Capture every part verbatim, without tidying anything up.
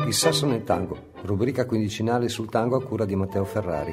Il sasso nel tango, rubrica quindicinale sul tango a cura di Matteo Ferrari.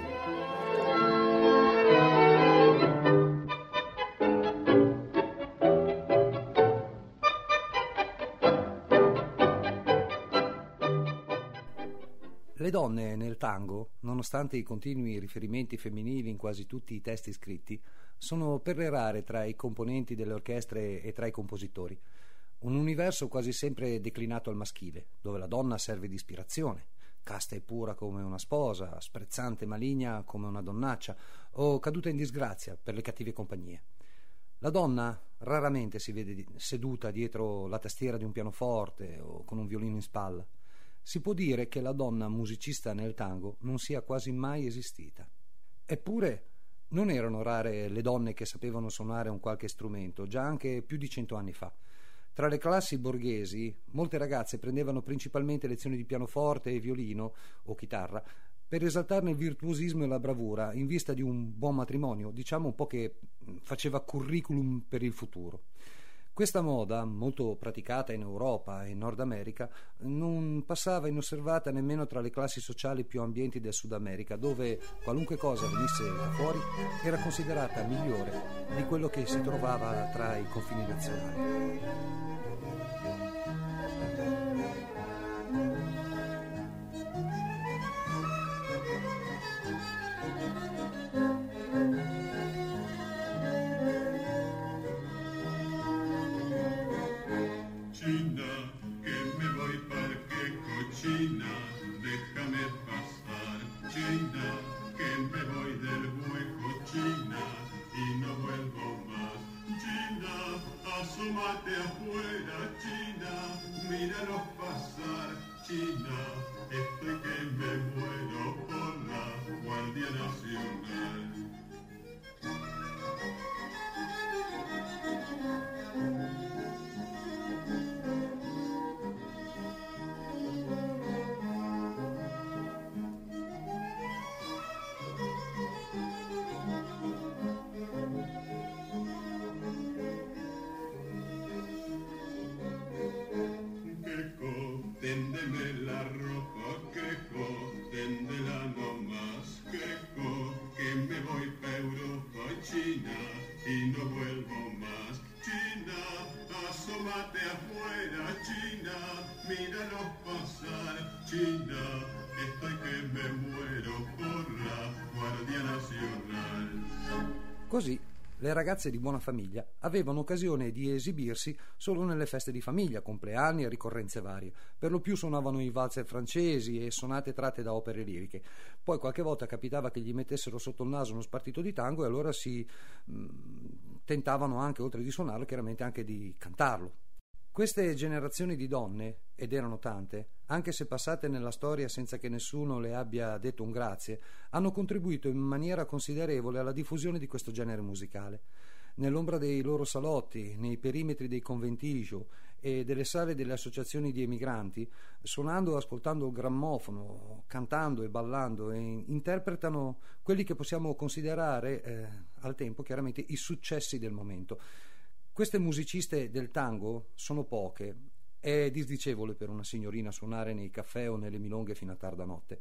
Le donne nel tango, nonostante i continui riferimenti femminili in quasi tutti i testi scritti, sono per le rare tra i componenti delle orchestre e tra i compositori. Un universo quasi sempre declinato al maschile, dove la donna serve di ispirazione, casta e pura come una sposa, sprezzante e maligna come una donnaccia, o caduta in disgrazia per le cattive compagnie. La donna raramente si vede seduta dietro la tastiera di un pianoforte o con un violino in spalla. Si può dire che la donna musicista nel tango non sia quasi mai esistita. Eppure non erano rare le donne che sapevano suonare un qualche strumento, già anche più di cento anni fa. Tra le classi borghesi, molte ragazze prendevano principalmente lezioni di pianoforte e violino o chitarra per esaltarne il virtuosismo e la bravura in vista di un buon matrimonio, diciamo un po' che faceva curriculum per il futuro. Questa moda, molto praticata in Europa e in Nord America, non passava inosservata nemmeno tra le classi sociali più ambienti del Sud America, dove qualunque cosa venisse da fuori era considerata migliore di quello che si trovava tra i confini nazionali. Asómate afuera, China, míralos pasar, China, estoy que me muero por la Guardia Nacional. Téndeme la ropa, quejo, téndela no más, quejo, que me voy pa' Europa, China, y no vuelvo más. China, asómate afuera, China, míralos pasar, China, estoy que me muero por la Guardia Nacional. Così le ragazze di buona famiglia avevano occasione di esibirsi solo nelle feste di famiglia, compleanni e ricorrenze varie. Per lo più suonavano i valzer francesi e sonate tratte da opere liriche. Poi qualche volta capitava che gli mettessero sotto il naso uno spartito di tango e allora si mh, tentavano anche, oltre di suonarlo, chiaramente anche di cantarlo. Queste generazioni di donne, ed erano tante, anche se passate nella storia senza che nessuno le abbia detto un grazie, hanno contribuito in maniera considerevole alla diffusione di questo genere musicale. Nell'ombra dei loro salotti, nei perimetri dei conventigio e delle sale delle associazioni di emigranti, suonando e ascoltando il grammofono, cantando e ballando, e interpretano quelli che possiamo considerare eh, al tempo chiaramente i successi del momento. Queste musiciste del tango sono poche. È disdicevole per una signorina suonare nei caffè o nelle milonghe fino a tarda notte.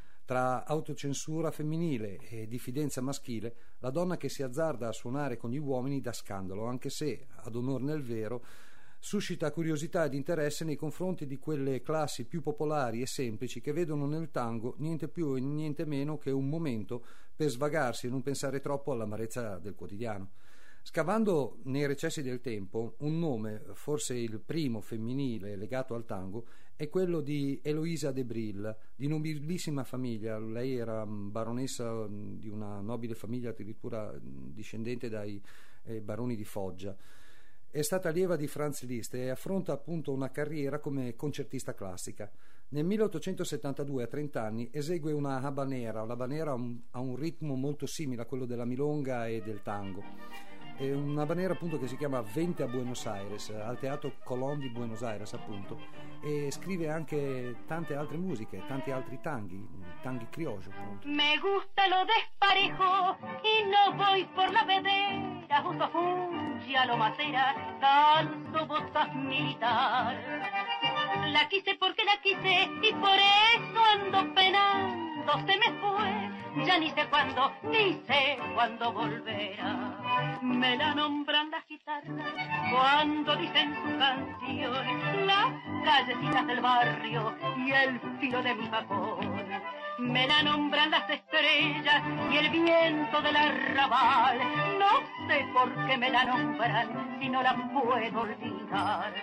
Tra autocensura femminile e diffidenza maschile, la donna che si azzarda a suonare con gli uomini dà scandalo, anche se, ad onor nel vero, suscita curiosità ed interesse nei confronti di quelle classi più popolari e semplici che vedono nel tango niente più e niente meno che un momento per svagarsi e non pensare troppo all'amarezza del quotidiano. Scavando nei recessi del tempo, un nome, forse il primo femminile legato al tango, è quello di Eloisa de Bril, di nobilissima famiglia. Lei era baronessa di una nobile famiglia, addirittura discendente dai eh, baroni di Foggia. È stata allieva di Franz Liszt e affronta appunto una carriera come concertista classica. Nel milleottocentosettantadue, a trenta anni, esegue una habanera. L'habanera ha un, ha un ritmo molto simile a quello della milonga e del tango. È una habanera appunto che si chiama Vente a Buenos Aires, al Teatro Colón di Buenos Aires appunto, e scrive anche tante altre musiche, tanti altri tanghi, tanghi criollo appunto. Me gusta lo desparejo y no voy por la vedera, junto a Fungi a lo macera, calzo botas militar. La quise porque la quise y por eso ando penando. Se me fue, ya ni sé cuándo, ni sé cuándo volverá. Me la nombran las guitarras cuando dicen su canción, las callecitas del barrio y el filo de mi facón. Me la nombran las estrellas y el viento del arrabal. No sé por qué me la nombran si no la puedo olvidar.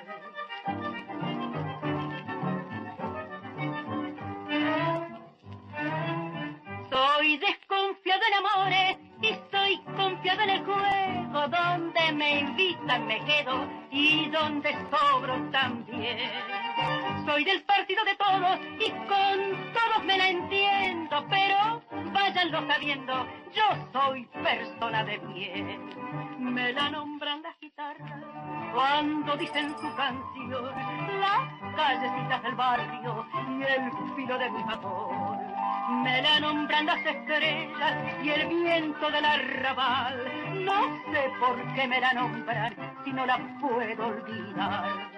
Soy desconfiado en amores y soy confiado en el juego. Donde me invitan me quedo y donde sobro también. Soy del partido de todos y con todos me la entiendo, pero váyanlo sabiendo, yo soy persona de bien. Me la nombran las guitarras cuando dicen su canción, las callecitas del barrio y el filo de mi facón. Me la nombran las estrellas y el viento del arrabal. No sé por qué me la nombran si no la puedo olvidar.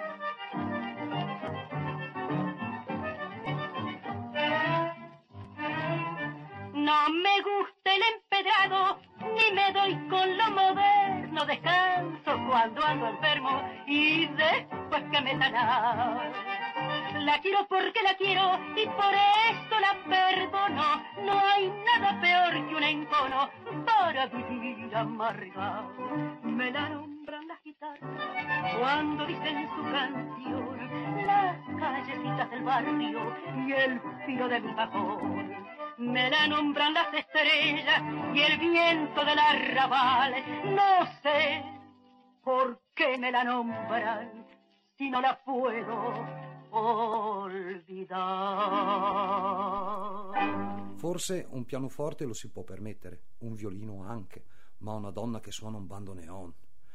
No me gusta el empedrado, ni me doy con lo moderno. Descanso cuando ando enfermo y después que me sanar. La quiero porque la quiero y por eso la perdono. No hay nada peor que un encono para vivir amargado. Me la nombran las guitarras cuando dicen su canción, las callecitas del barrio y el filo de mi cajón. Me la nombran las estrellas y el viento del arrabal. No sé por qué me la nombran si no la puedo olvidar. Forse un pianoforte lo si può permettere, un violino anche, ma una donna che suona un bandoneon.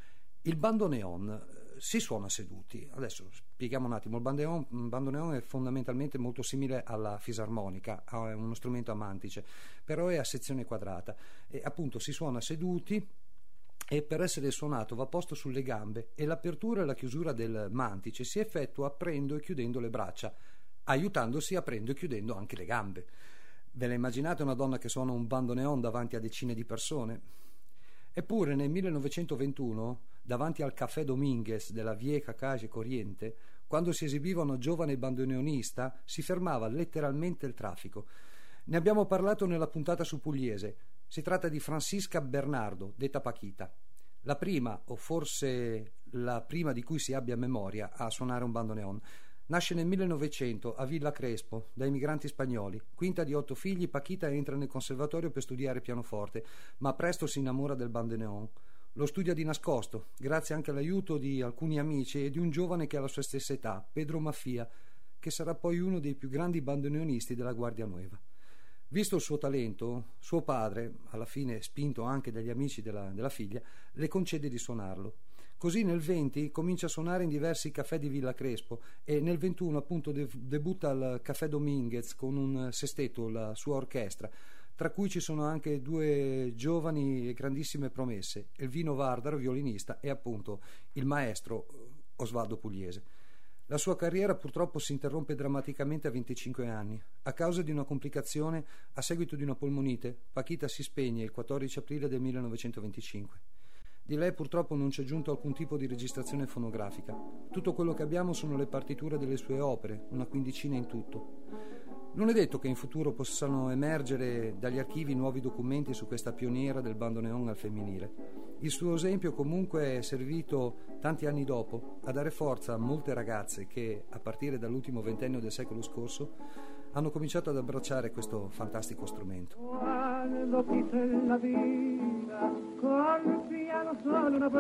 Il bandoneon si suona seduti. Adesso spieghiamo un attimo. Il bandoneon, bandoneon è fondamentalmente molto simile alla fisarmonica, è uno strumento a mantice, però è a sezione quadrata e appunto si suona seduti e per essere suonato va posto sulle gambe e l'apertura e la chiusura del mantice si effettua aprendo e chiudendo le braccia, aiutandosi aprendo e chiudendo anche le gambe. Ve la immaginate una donna che suona un bandoneon davanti a decine di persone? Eppure nel millenovecentoventuno, davanti al Café Dominguez della Vieja Calle Corriente, quando si esibiva una giovane bandoneonista, si fermava letteralmente il traffico. Ne abbiamo parlato nella puntata su Pugliese. Si tratta di Francisca Bernardo, detta Paquita, la prima, o forse la prima di cui si abbia memoria, a suonare un bandoneon. Nasce nel millenovecento a Villa Crespo da immigranti spagnoli. Quinta di otto figli, Paquita entra nel conservatorio per studiare pianoforte, ma presto si innamora del bandoneon. Lo studia di nascosto, grazie anche all'aiuto di alcuni amici e di un giovane che ha la sua stessa età, Pedro Maffia, che sarà poi uno dei più grandi bandoneonisti della Guardia Nuova. Visto il suo talento, suo padre, alla fine spinto anche dagli amici della, della figlia, le concede di suonarlo. Così nel venti comincia a suonare in diversi caffè di Villa Crespo e nel ventuno appunto de- debutta al Café Dominguez con un sestetto, la sua orchestra, tra cui ci sono anche due giovani e grandissime promesse, Elvino Vardaro, violinista, e appunto il maestro Osvaldo Pugliese. La sua carriera purtroppo si interrompe drammaticamente a venticinque anni. A causa di una complicazione, a seguito di una polmonite, Paquita si spegne il quattordici aprile del millenovecentoventicinque. Di lei purtroppo non c'è giunto alcun tipo di registrazione fonografica. Tutto quello che abbiamo sono le partiture delle sue opere, una quindicina in tutto. Non è detto che in futuro possano emergere dagli archivi nuovi documenti su questa pioniera del bandoneon al femminile. Il suo esempio comunque è servito tanti anni dopo a dare forza a molte ragazze che, a partire dall'ultimo ventennio del secolo scorso, hanno cominciato ad abbracciare questo fantastico strumento. Quando quise la vida col piano solo una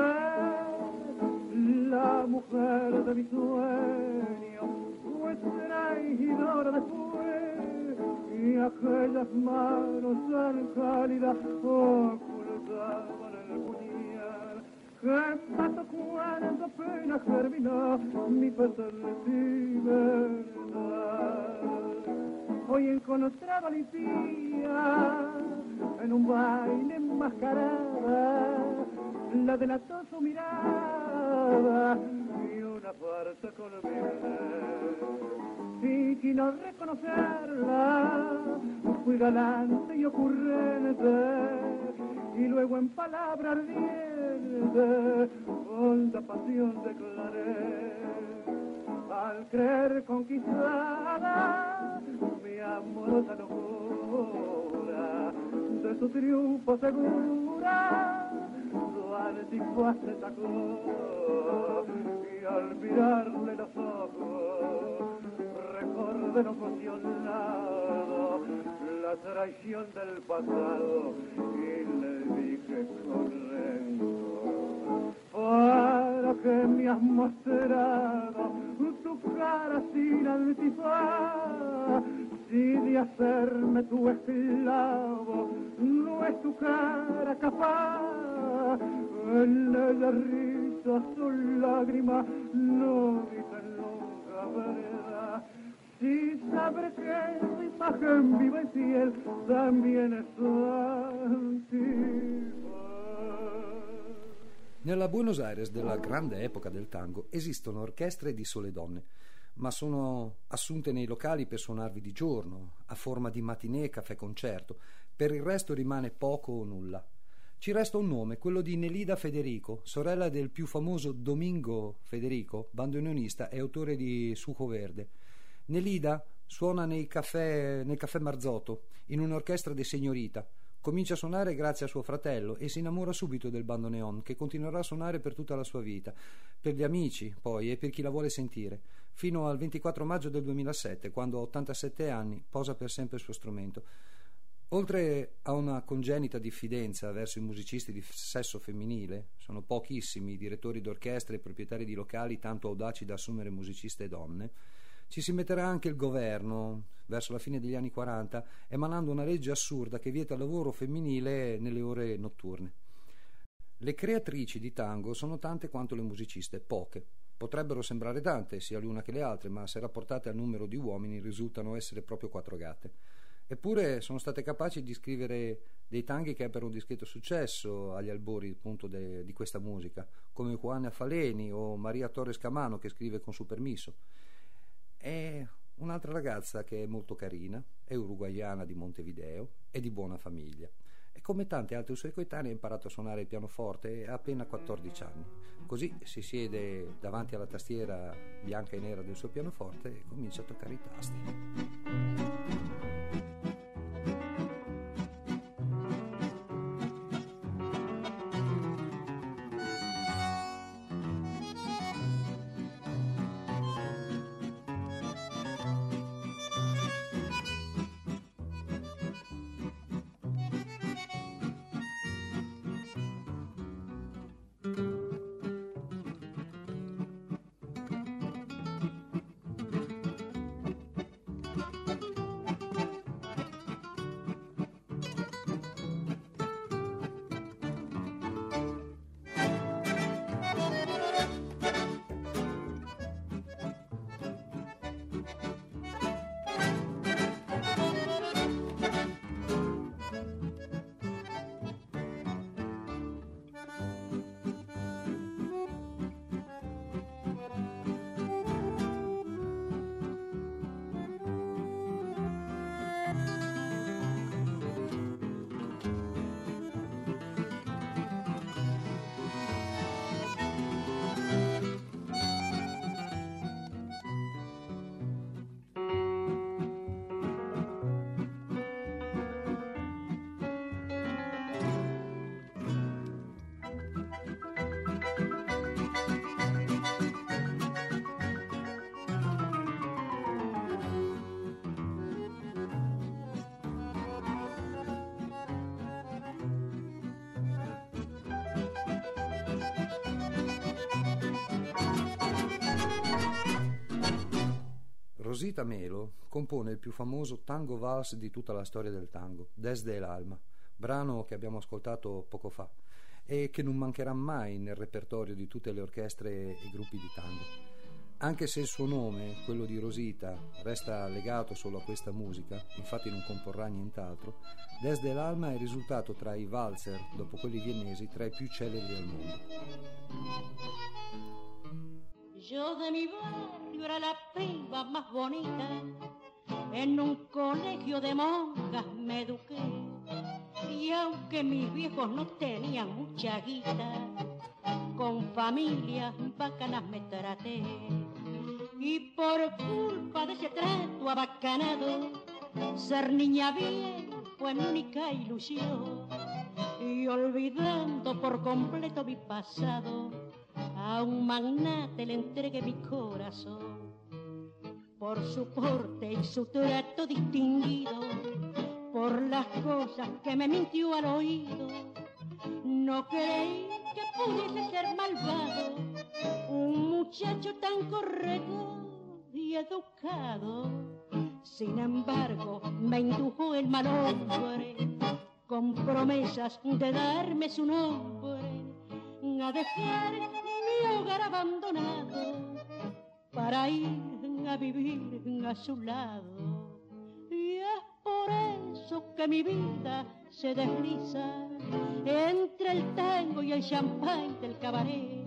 vez, la mujer de mi sueño fue traidora después, y aquellas manos tan cálidas ocultaban el puñal que mató cuando apenas terminó mi pesar de verdad. Hoy encontraba Alicia en un baile enmascarada, la delató su mirada y una farsa colombiana. fingí no reconocerla, fui galante y ocurrente, y luego en palabra ardiente, honda pasión declaré. Al creer conquistada mi amorosa locura, de su triunfo segura, su antigua se sacó, y al mirarle los ojos recordé emocionado la traición del pasado y le dije con rencor: para que me has mostrado tu cara sin antifaz, si de hacerme tu esclavo no es tu cara capaz. En ella risa su lágrima no dicen nunca verdad. Si sabré que tu imagen viva y fiel también es antigua. Nella Buenos Aires della grande epoca del tango esistono orchestre di sole donne, ma sono assunte nei locali per suonarvi di giorno, a forma di matinée, caffè concerto. Per il resto rimane poco o nulla. Ci resta un nome, quello di Nelida Federico, sorella del più famoso Domingo Federico, bandoneonista e autore di Sujo Verde. Nelida suona nei caffè, nel caffè Marzotto, in un'orchestra de Signorita. Comincia a suonare grazie a suo fratello e si innamora subito del bandoneon, che continuerà a suonare per tutta la sua vita, per gli amici poi e per chi la vuole sentire, fino al ventiquattro maggio del duemilasette, quando a ottantasette anni posa per sempre il suo strumento. Oltre a una congenita diffidenza verso i musicisti di sesso femminile, sono pochissimi i direttori d'orchestra e proprietari di locali tanto audaci da assumere musiciste donne, ci si metterà anche il governo verso la fine degli anni quaranta, emanando una legge assurda che vieta il lavoro femminile nelle ore notturne. Le creatrici di tango sono tante quanto le musiciste, poche. Potrebbero sembrare tante, sia l'una che le altre, ma se rapportate al numero di uomini risultano essere proprio quattro gatte. Eppure sono state capaci di scrivere dei tanghi che ebbero un discreto successo agli albori appunto de, di questa musica, come Juana Faleni o Maria Torres Camano, che scrive con su permiso. È un'altra ragazza che è molto carina, è uruguaiana di Montevideo, è di buona famiglia e come tante altre sue coetanee ha imparato a suonare il pianoforte a appena quattordici anni. Così si siede davanti alla tastiera bianca e nera del suo pianoforte e comincia a toccare i tasti. Rosita Melo compone il più famoso tango vals di tutta la storia del tango, Desde el Alma, brano che abbiamo ascoltato poco fa e che non mancherà mai nel repertorio di tutte le orchestre e gruppi di tango. Anche se il suo nome, quello di Rosita, resta legato solo a questa musica, infatti non comporrà nient'altro, Desde el Alma è risultato tra i valzer, dopo quelli viennesi, tra i più celebri al mondo. Yo de mi barrio era la piba más bonita, en un colegio de monjas me eduqué, y aunque mis viejos no tenían mucha guita, con familias bacanas me traté, y por culpa de ese trato abacanado, ser niña bien fue mi única ilusión, y olvidando por completo mi pasado, a un magnate le entregué mi corazón. Por su porte y su trato distinguido, por las cosas que me mintió al oído, no creí que pudiese ser malvado un muchacho tan correcto y educado. Sin embargo, me indujo el mal hombre, con promesas de darme su nombre, a dejar mi hogar abandonado para ir a vivir a su lado. Y es por eso que mi vida se desliza entre el tango y el champán del cabaret.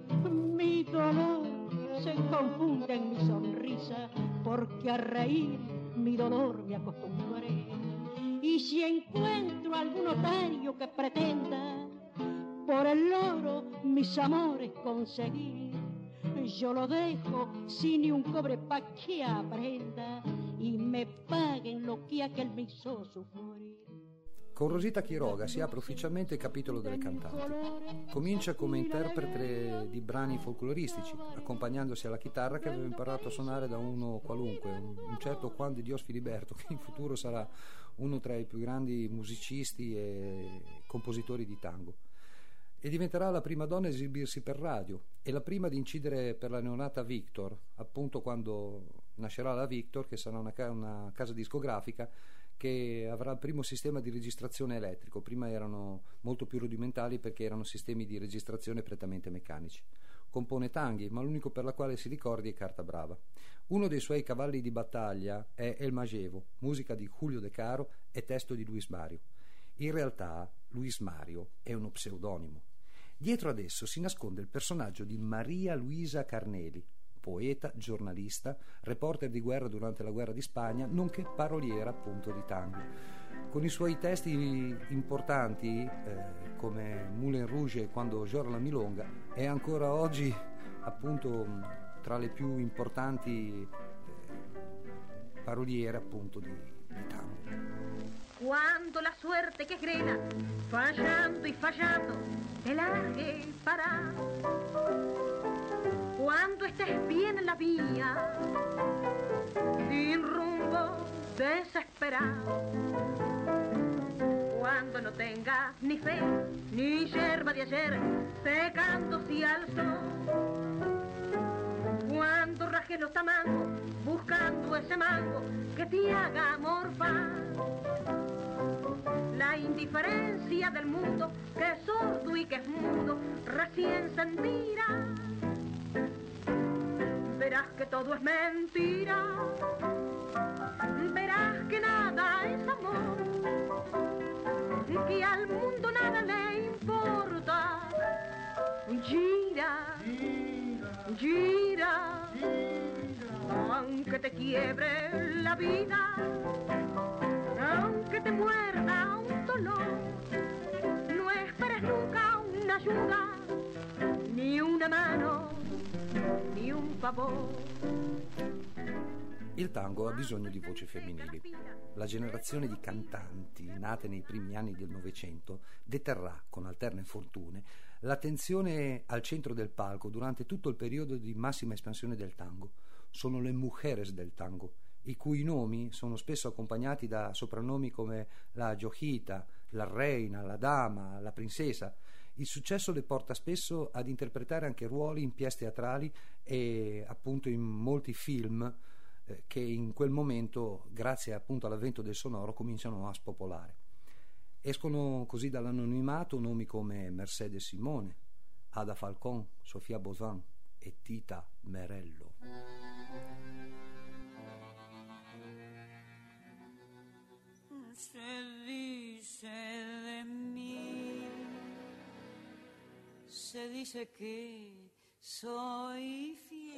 Mi dolor se confunde en mi sonrisa, porque a reír mi dolor me acostumbré. Y si encuentro algún otario que pretenda por el oro mis amores conseguir, yo lo dejo sin ni un cobre pa' que aprenda y me paguen lo que aquel me hizo sufrir. Con Rosita Quiroga si apre ufficialmente il capitolo delle cantanti. Comincia come interprete di brani folcloristici, accompagnandosi alla chitarra che aveva imparato a suonare da uno qualunque, un certo Juan de Dios Filiberto, che in futuro sarà uno tra i più grandi musicisti e compositori di tango. E diventerà la prima donna a esibirsi per radio e la prima ad incidere per la neonata Victor, appunto quando nascerà la Victor, che sarà una, ca- una casa discografica che avrà il primo sistema di registrazione elettrico. Prima erano molto più rudimentali perché erano sistemi di registrazione prettamente meccanici. Compone tanghi, ma l'unico per la quale si ricordi è Carta Brava. Uno dei suoi cavalli di battaglia è El Magevo, musica di Julio De Caro e testo di Luis Mario. In realtà Luis Mario è uno pseudonimo. Dietro ad esso si nasconde il personaggio di Maria Luisa Carneli, poeta, giornalista, reporter di guerra durante la guerra di Spagna, nonché paroliera appunto di tango. Con i suoi testi importanti, eh, come Moulin Rouge e Quando Giora la Milonga, è ancora oggi appunto tra le più importanti eh, paroliere appunto di, di tango. Cuando la suerte que grena, fallando y fallando, te largue para. Cuando estés bien en la vía, sin rumbo, desesperado. Cuando no tengas ni fe, ni yerba de ayer, secándose al sol. Cuando rajes los tamangos, buscando ese mango que te haga morfar. La indiferencia del mundo, que es sordo y que es mudo, recién sentirá. Verás que todo es mentira, verás que nada es amor, que al mundo nada le importa. Gira, gira, aunque te quiebre la vida, aunque te muerda un dolor, no esperes nunca una ayuda, ni una mano, ni un favor. Il tango ha bisogno di voci femminili. La generazione di cantanti nate nei primi anni del Novecento deterrà, con alterne fortune, l'attenzione al centro del palco durante tutto il periodo di massima espansione del tango. Sono le mujeres del tango, i cui nomi sono spesso accompagnati da soprannomi come la Giojita, la Reina, la Dama, la Princesa. Il successo le porta spesso ad interpretare anche ruoli in pièce teatrali e appunto in molti film eh, che in quel momento, grazie appunto all'avvento del sonoro, cominciano a spopolare. Escono così dall'anonimato nomi come Mercedes Simone, Ada Falcón, Sofia Bozan e Tita Merello. Se dice de mí, se dice que soy fiel.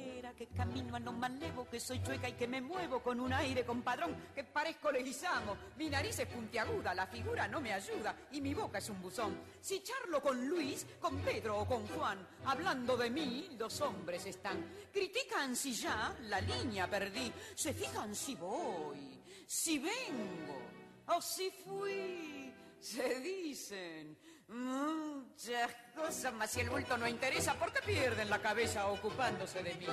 que camino a lo malevo, que soy chueca y que me muevo con un aire compadrón, que parezco Leguizamo. Mi nariz es puntiaguda, la figura no me ayuda y mi boca es un buzón. Si charlo con Luis, con Pedro o con Juan, hablando de mí, los hombres están. Critican si ya la línea perdí, se fijan si voy, si vengo o si fui. Se dicen muchas cosas, mas si el bulto no interesa, ¿por qué pierden la cabeza ocupándose de mí?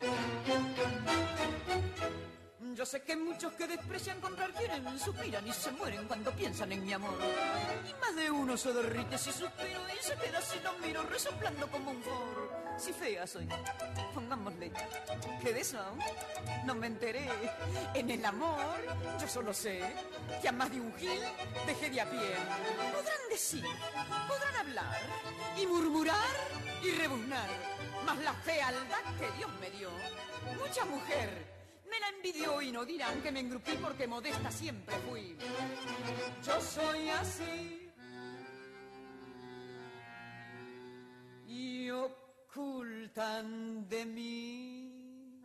Yo sé que muchos que desprecian comprar quieren, suspiran y se mueren cuando piensan en mi amor. Y más de uno se derrite si suspiro y se queda si lo miro resoplando como un forro. Si fea soy, pongámosle, que de eso no me enteré. En el amor yo solo sé que a más de un gil dejé de a pie. Podrán decir, podrán hablar y murmurar y rebuznar, mas la fealdad que Dios me dio, mucha mujer me la envidió y no dirán que me engrupí porque modesta siempre fui. Yo soy así y ocultan de mí.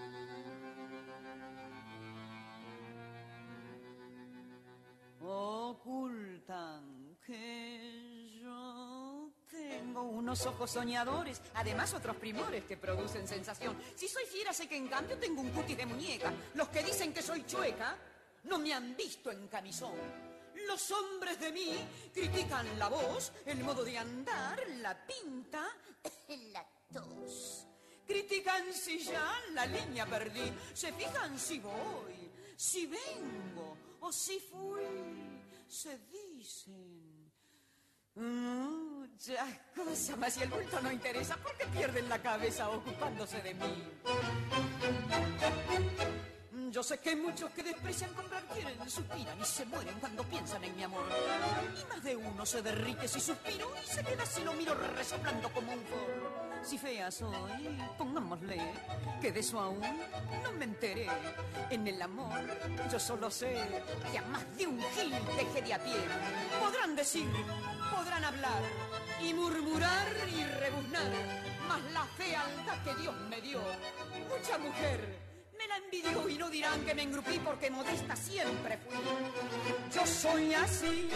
Ocultan que yo tengo unos ojos soñadores, además otros primores que producen sensación. Si soy fiera sé que en cambio tengo un cutis de muñeca. Los que dicen que soy chueca no me han visto en camisón. Los hombres de mí critican la voz, el modo de andar, la pinta, la tos. Critican si ya la línea perdí, se fijan si voy, si vengo o si fui. Se dicen muchas cosas, mas si el bulto no interesa, ¿por qué pierden la cabeza ocupándose de mí? Yo sé que muchos que desprecian comprar quieren, suspiran y se mueren cuando piensan en mi amor. Y más de uno se derrite si suspiro y se queda si lo miro resoplando como un forro. Si fea soy, pongámosle, que de eso aún no me enteré. En el amor yo solo sé que a más de un gil dejé de a pie. Podrán decir, podrán hablar y murmurar y rebuznar, mas la fealdad que Dios me dio, mucha mujer me la envidiò y no dirán che me ingrupì porque modesta sempre fui. Io soy así.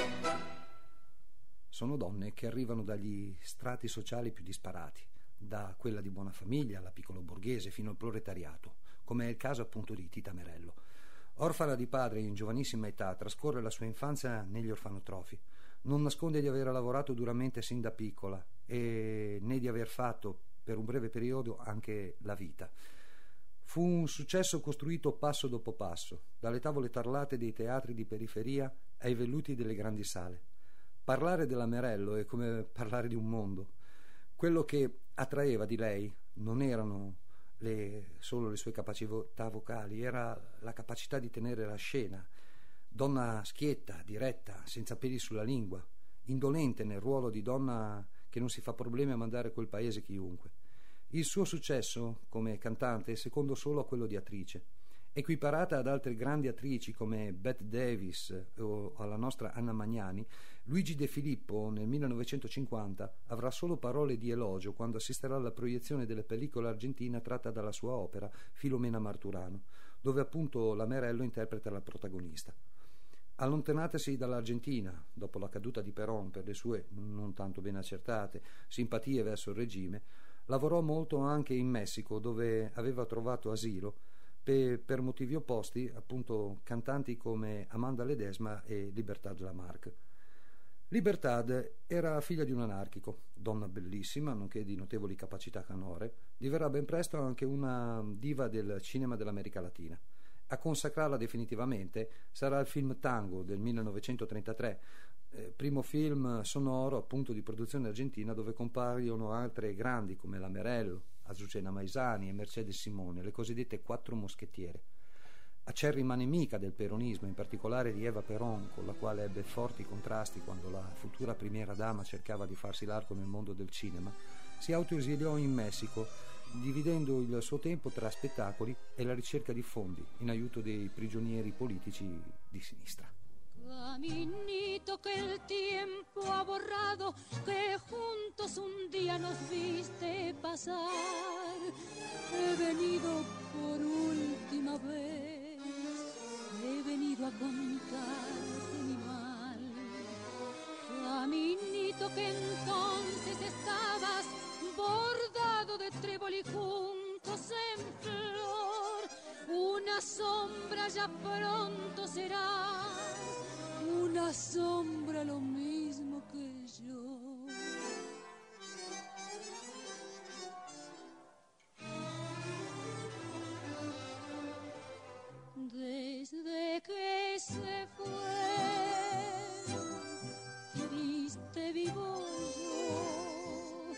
Sono donne che arrivano dagli strati sociali più disparati, da quella di buona famiglia alla piccolo borghese fino al proletariato, come è il caso appunto di Tita Merello. Orfana di padre in giovanissima età, trascorre la sua infanzia negli orfanotrofi. Non nasconde di aver lavorato duramente sin da piccola e né di aver fatto per un breve periodo anche la vita. Fu un successo costruito passo dopo passo, dalle tavole tarlate dei teatri di periferia ai velluti delle grandi sale. Parlare della Merello è come parlare di un mondo. Quello che attraeva di lei non erano le, solo le sue capacità vocali, era la capacità di tenere la scena. Donna schietta, diretta, senza peli sulla lingua, indolente nel ruolo di donna che non si fa problemi a mandare a quel paese chiunque. Il suo successo come cantante è secondo solo a quello di attrice. Equiparata ad altre grandi attrici come Bette Davis o alla nostra Anna Magnani, Luigi De Filippo nel millenovecentocinquanta avrà solo parole di elogio quando assisterà alla proiezione della pellicola argentina tratta dalla sua opera Filomena Marturano, dove appunto la Merello interpreta la protagonista. Allontanatasi dall'Argentina dopo la caduta di Perón per le sue non tanto ben accertate simpatie verso il regime, lavorò molto anche in Messico, dove aveva trovato asilo per, per motivi opposti, appunto cantanti come Amanda Ledesma e Libertad Lamarque. Libertad era figlia di un anarchico, donna bellissima, nonché di notevoli capacità canore, diverrà ben presto anche una diva del cinema dell'America Latina. A consacrarla definitivamente sarà il film Tango del millenovecentotrentatré, eh, primo film sonoro appunto di produzione argentina, dove compaiono altre grandi come la Merello, Azucena Maisani e Mercedes Simone, le cosiddette quattro moschettiere. Acerrima nemica del peronismo, in particolare di Eva Perón, con la quale ebbe forti contrasti quando la futura primiera dama cercava di farsi largo nel mondo del cinema, si autoesiliò in Messico, dividendo il suo tempo tra spettacoli e la ricerca di fondi in aiuto dei prigionieri politici di sinistra. Caminito que el tiempo ha borrado, que juntos un día nos viste pasar. He venido por última vez, he venido a contarte mi mal. Caminito que entonces estabas bordado de trébol y juncos en flor. Una sombra ya pronto será, una sombra lo mismo que yo. Desde que se fue, triste vivo yo,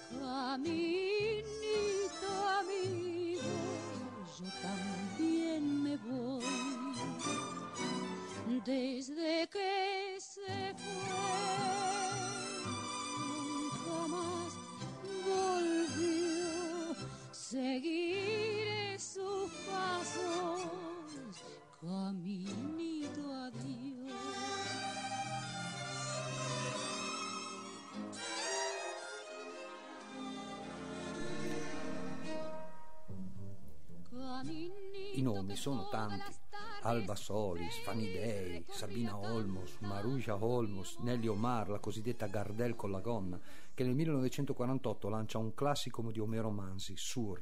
caminito amigo, yo también me voy. Desde que se fue, nunca más volvió. Seguiré sus pasos, caminito adiós. I nomi sono tanti: Alba Solis, Fanny Day, Sabina Olmos, Maruja Olmos, Nelly Omar, la cosiddetta Gardel con la gonna, che nel millenovecentoquarantotto lancia un classico di Omero Mansi, Sur.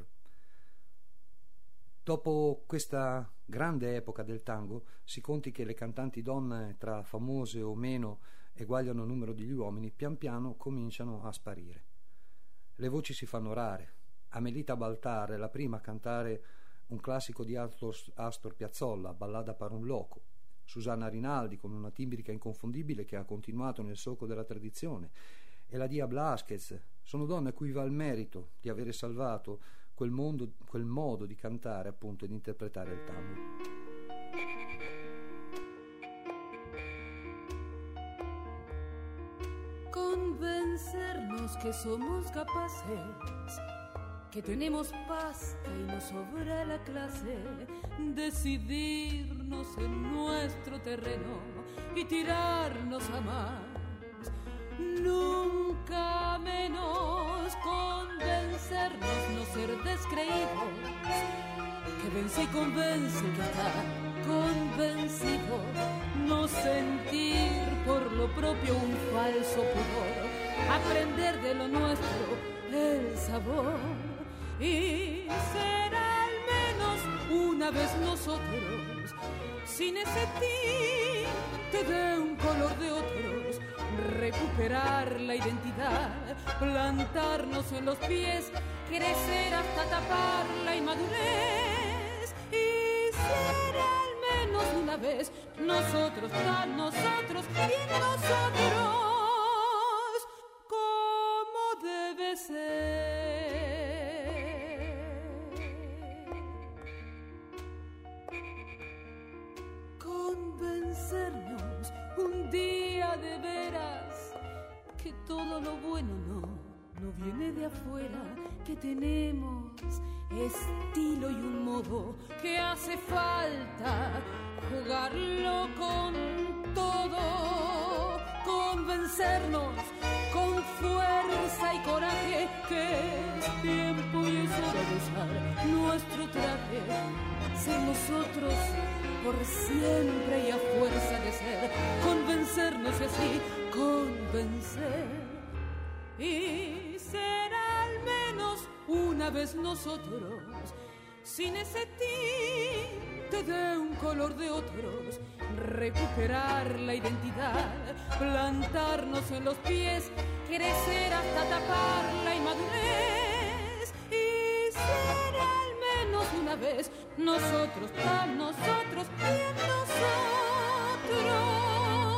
Dopo questa grande epoca del tango, si conti che le cantanti donne, tra famose o meno, eguagliano il numero degli uomini, pian piano cominciano a sparire. Le voci si fanno rare. Amelita Baltar è la prima a cantare un classico di Astor, Astor Piazzolla, Ballada per un loco. Susanna Rinaldi, con una timbrica inconfondibile che ha continuato nel solco della tradizione, e la Dia Blasquez sono donne a cui va il merito di avere salvato quel, mondo, quel modo di cantare, appunto, e di interpretare il tango. Convencernos que somos capaces, que tenemos pasta y nos sobra la clase, decidirnos en nuestro terreno y tirarnos a más, nunca menos convencernos, no ser descreídos, que vence y convence que está convencido, no sentir por lo propio un falso pudor, aprender de lo nuestro el sabor y ser al menos una vez nosotros, sin ese tinte de un color de otros, recuperar la identidad, plantarnos en los pies, crecer hasta tapar la inmadurez y ser al menos una vez nosotros, tan nosotros y nosotros, como debe ser. Convencernos un día de veras que todo lo bueno no, no viene de afuera, que tenemos estilo y un modo que hace falta jugarlo con todo, convencernos con fuerza y coraje que es tiempo y es hora de usar nuestro traje, ser nosotros por siempre y a fuerza de ser, convencernos así, convencer y ser al menos una vez nosotros, sin ese tinte de un color de otros, recuperar la identidad, plantarnos en los pies, crecer hasta tapar la inmadurez y ser al menos una vez nosotros, para nosotros y en nosotros.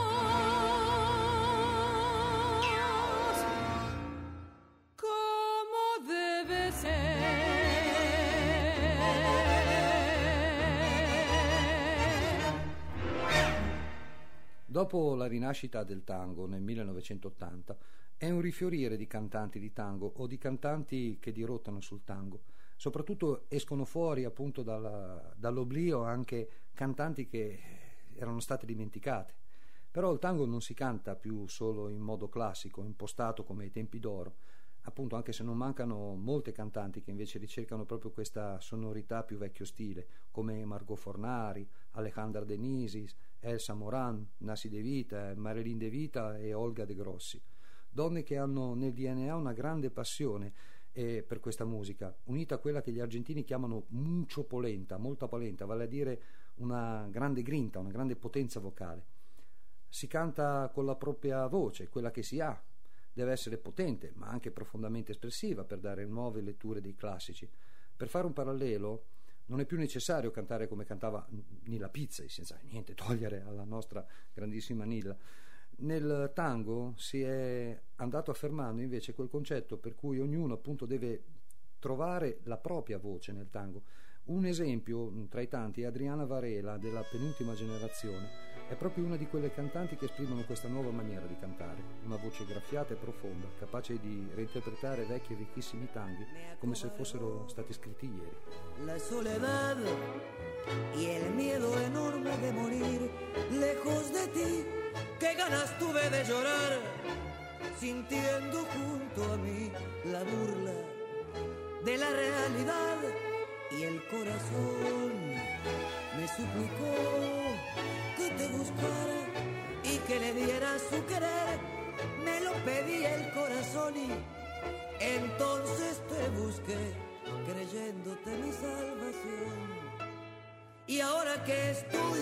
Dopo la rinascita del tango nel millenovecentottanta è un rifiorire di cantanti di tango o di cantanti che dirottano sul tango. Soprattutto escono fuori appunto dalla, dall'oblio anche cantanti che erano state dimenticate. Però il tango non si canta più solo in modo classico, impostato come ai tempi d'oro, appunto, anche se non mancano molte cantanti che invece ricercano proprio questa sonorità più vecchio stile, come Margot Fornari, Alejandra Denisis, Elsa Moran, Nasi De Vita, Marilyn De Vita e Olga De Grossi. Donne che hanno nel D N A una grande passione eh, per questa musica, unita a quella che gli argentini chiamano mucho polenta, molta polenta, vale a dire una grande grinta, una grande potenza vocale. Si canta con la propria voce, quella che si ha. Deve essere potente, ma anche profondamente espressiva per dare nuove letture dei classici. Per fare un parallelo, non è più necessario cantare come cantava Nilla Pizzey, senza niente togliere alla nostra grandissima Nilla. Nel tango si è andato affermando invece quel concetto per cui ognuno appunto deve trovare la propria voce nel tango. Un esempio tra i tanti è Adriana Varela, della penultima generazione. È proprio una di quelle cantanti che esprimono questa nuova maniera di cantare, una voce graffiata e profonda, capace di reinterpretare vecchi e vecchissimi tanghi come se fossero stati scritti ieri. La soledad y el miedo enorme de morir lejos de ti, qué ganas tuve de llorar, sintiendo junto a mí la burla de la realidad, y el corazón me suplicó que te buscara y que le diera su querer. Me lo pedía el corazón y entonces te busqué, creyéndote mi salvación. Y ahora que estoy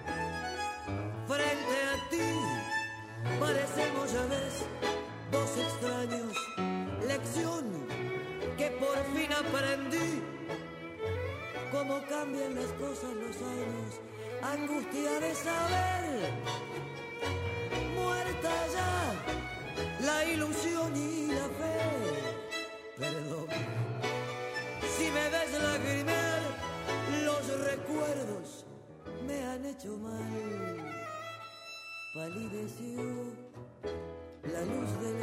frente a ti, parecemos, ya ves, dos extraños. Lección que por fin aprendí, cómo cambian las cosas los años. Angustia de saber, muerta ya la ilusión y la fe. Perdón, si me ves lagrimear, los recuerdos me han hecho mal. Palideció la luz del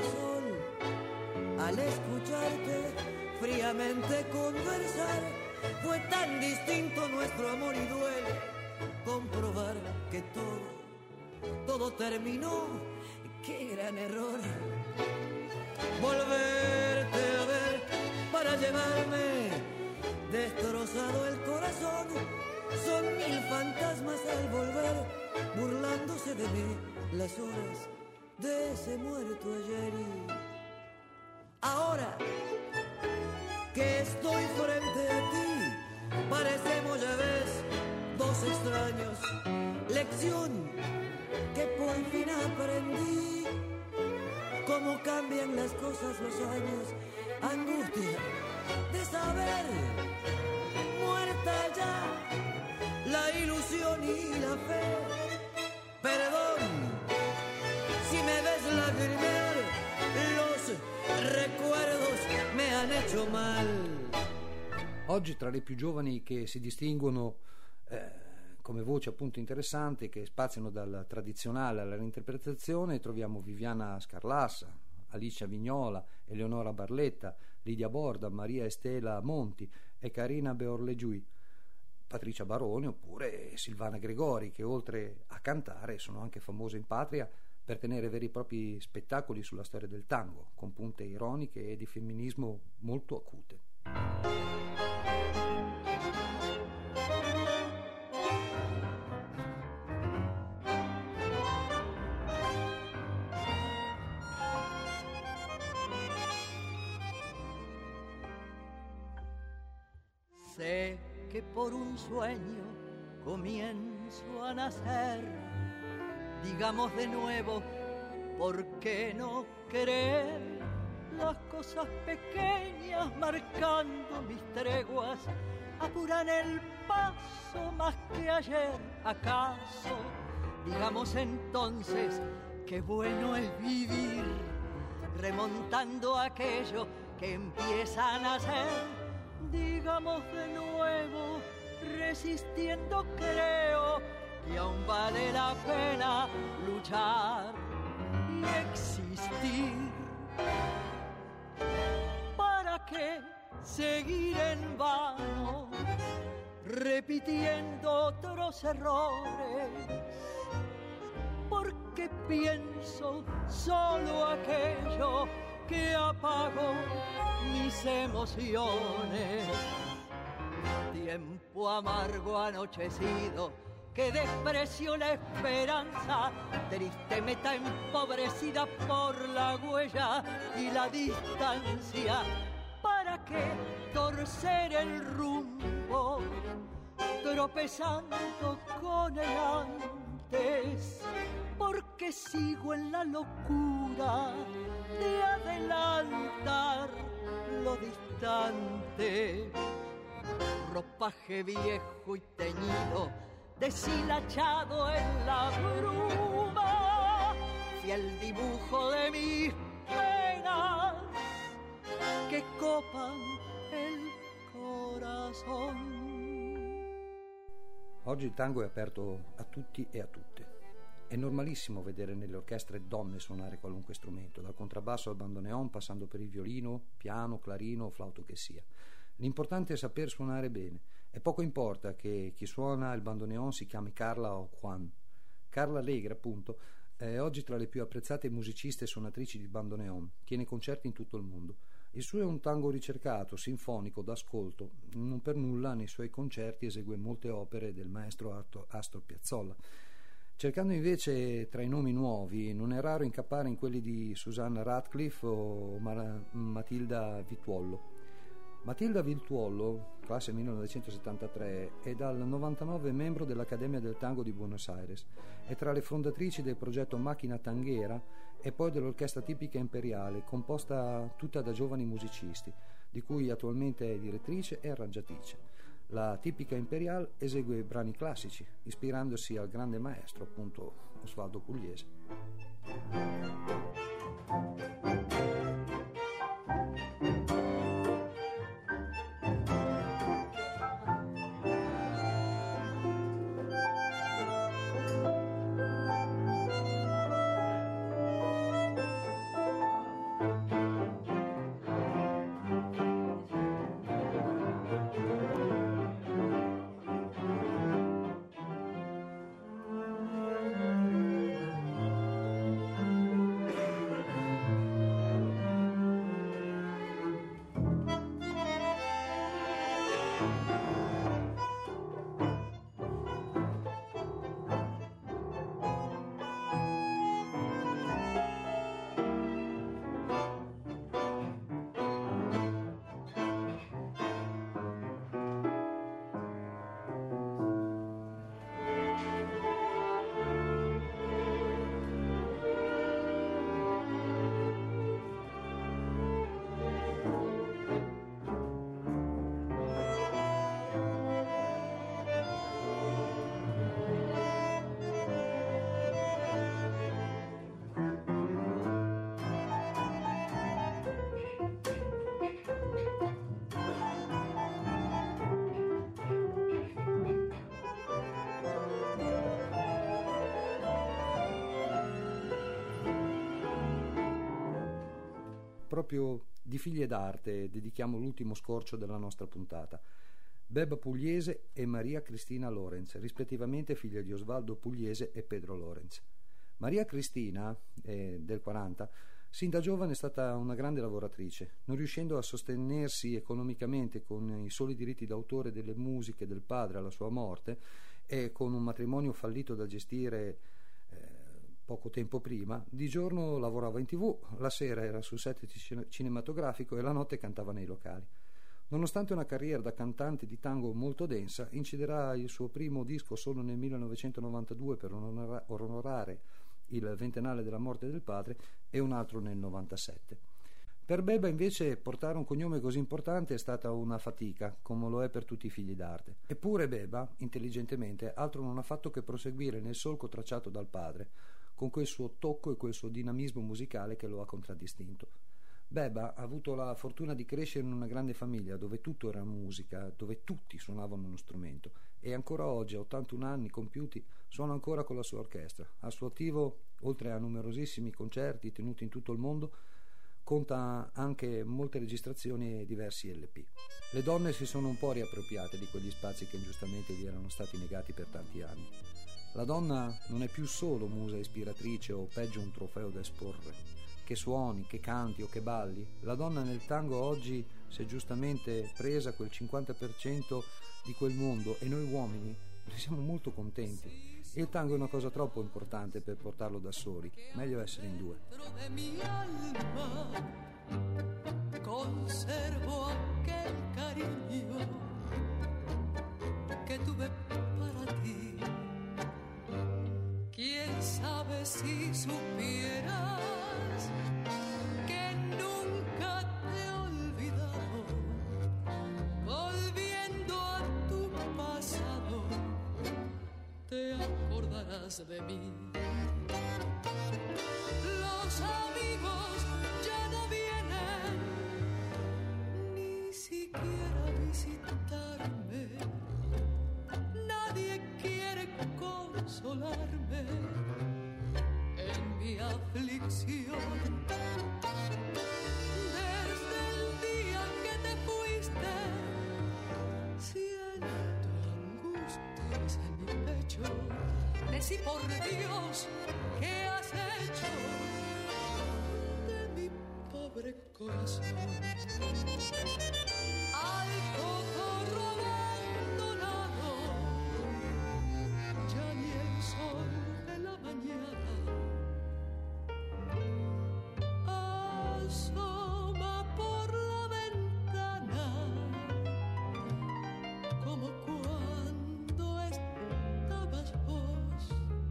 sol al escucharte fríamente conversar. Fue tan distinto nuestro amor y duele comprobar que todo, todo terminó. Qué gran error volverte a ver para llevarme destrozado el corazón. Son mil fantasmas al volver, burlándose de mí las horas de ese muerto ayer. Y ahora que estoy frente a ti, parecemos, ya ves, dos extraños. Lección que por fin aprendí, cómo cambian las cosas los años. Angustia de saber, muerta ya la ilusión y la fe. Perdón si me ves lagrimear, los recuerdos me han hecho mal. Oggi tra le più giovani che si distinguono eh, come voce appunto interessante, che spaziano dal tradizionale alla reinterpretazione, troviamo Viviana Scarlassa, Alicia Vignola, Eleonora Barletta, Lidia Borda, Maria Estela Monti e Carina Beorleggiui, Patricia Barone oppure Silvana Gregori, che oltre a cantare sono anche famose in patria per tenere veri e propri spettacoli sulla storia del tango, con punte ironiche e di femminismo molto acute. Sé que por un sueño comienzo a nacer. Digamos de nuevo, ¿por qué no querer? Las cosas pequeñas marcando mis treguas apuran el paso más que ayer. ¿Acaso? Digamos entonces, qué bueno es vivir, remontando aquello que empieza a nacer. Digamos de nuevo, resistiendo creo que aún vale la pena luchar y existir. ¿Para qué seguir en vano, repitiendo otros errores? ¿Por qué que pienso solo aquello que apagó mis emociones. Tiempo amargo anochecido que despreció la esperanza, triste meta empobrecida por la huella y la distancia. ¿Para qué torcer el rumbo, tropezando con el antes? Porque sigo en la locura de adelantar lo distante. Ropaje viejo y teñido, deshilachado en la bruma, fiel dibujo de mis penas que copan el corazón. Oggi il tango è aperto a tutti e a tutte. È normalissimo vedere nelle orchestre donne suonare qualunque strumento, dal contrabbasso al bandoneon, passando per il violino, piano, clarino o flauto che sia. L'importante è saper suonare bene, e poco importa che chi suona il bandoneon si chiami Carla o Juan. Carla Alegre, appunto, è oggi tra le più apprezzate musiciste e suonatrici di bandoneon, tiene concerti in tutto il mondo. Il suo è un tango ricercato, sinfonico, d'ascolto. Non per nulla nei suoi concerti esegue molte opere del maestro Astor Piazzolla. Cercando invece tra i nomi nuovi, non è raro incappare in quelli di Susanna Radcliffe o Mar- Matilda Vituollo. Matilda Vituollo, classe millenovecentosettantatré, è dal novantanove membro dell'Accademia del Tango di Buenos Aires, è tra le fondatrici del progetto Macchina Tanghera e poi dell'Orchestra Tipica Imperiale, composta tutta da giovani musicisti, di cui attualmente è direttrice e arrangiatrice. La Tipica Imperiale esegue brani classici, ispirandosi al grande maestro, appunto, Osvaldo Pugliese. Proprio di figlie d'arte dedichiamo l'ultimo scorcio della nostra puntata. Beba Pugliese e Maria Cristina Lorenz, rispettivamente figlia di Osvaldo Pugliese e Pedro Lorenz. Maria Cristina, eh, del quaranta, sin da giovane è stata una grande lavoratrice, non riuscendo a sostenersi economicamente con i soli diritti d'autore delle musiche del padre alla sua morte e con un matrimonio fallito da gestire eh, poco tempo prima. Di giorno lavorava in tv, la sera era sul set cinematografico e la notte cantava nei locali. Nonostante una carriera da cantante di tango molto densa, inciderà il suo primo disco solo nel millenovecentonovantadue per onorare il ventennale della morte del padre e un altro nel novantasette. Per Beba invece portare un cognome così importante è stata una fatica, come lo è per tutti i figli d'arte. Eppure Beba, intelligentemente, altro non ha fatto che proseguire nel solco tracciato dal padre, con quel suo tocco e quel suo dinamismo musicale che lo ha contraddistinto. Beba ha avuto la fortuna di crescere in una grande famiglia dove tutto era musica, dove tutti suonavano uno strumento, e ancora oggi, a ottantuno anni compiuti, suona ancora con la sua orchestra. Al suo attivo, oltre a numerosissimi concerti tenuti in tutto il mondo, conta anche molte registrazioni e diversi L P. Le donne si sono un po' riappropriate di quegli spazi che ingiustamente gli erano stati negati per tanti anni. La donna non è più solo musa ispiratrice o peggio un trofeo da esporre. Che suoni, che canti o che balli, la donna nel tango oggi si è giustamente presa quel cinquanta per cento di quel mondo e noi uomini ne siamo molto contenti. E il tango è una cosa troppo importante per portarlo da soli, meglio essere in due. Conservo aquel cariño que tuve para ti. Quién sabe si supieras que nunca te he olvidado, volviendo a tu pasado, te acordarás de mí. Los amigos ya no vienen ni siquiera a visitarme. Nadie quiere consolarme en mi aflicción. Desde el día que te fuiste, siento angustias en mi pecho. Decí por Dios, ¿qué has hecho de mi pobre corazón? Al cotorro abandonado, ya ni el sol de la mañana asoma por la ventana, como cuando estabas vos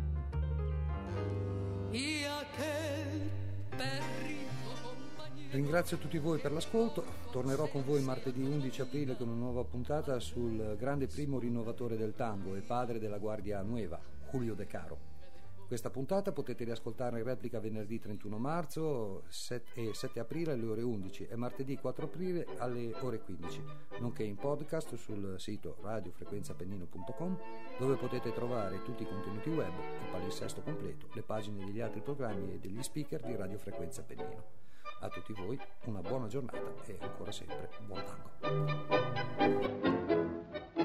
y aquel perrito compañero. Ringrazio tutti voi per l'ascolto, tornerò con voi martedì undici aprile con una nuova puntata sul grande primo rinnovatore del tango e padre della Guardia Nueva, Julio De Caro. Questa puntata potete riascoltare in replica venerdì trentuno marzo e sette aprile alle ore undici e martedì quattro aprile alle ore quindici, nonché in podcast sul sito radio frequenza appennino punto com, dove potete trovare tutti i contenuti web, il palinsesto completo, le pagine degli altri programmi e degli speaker di Radio Frequenza Appennino. A tutti voi una buona giornata e ancora sempre buon tango.